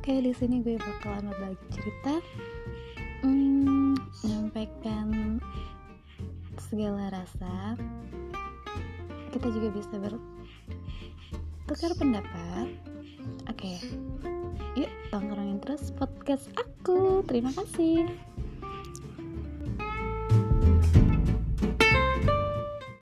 Oke, di sini gue bakalan berbagi cerita, menyampaikan segala rasa. Kita juga bisa bertukar pendapat. Oke, yuk tongkrongin terus podcast aku. Terima kasih.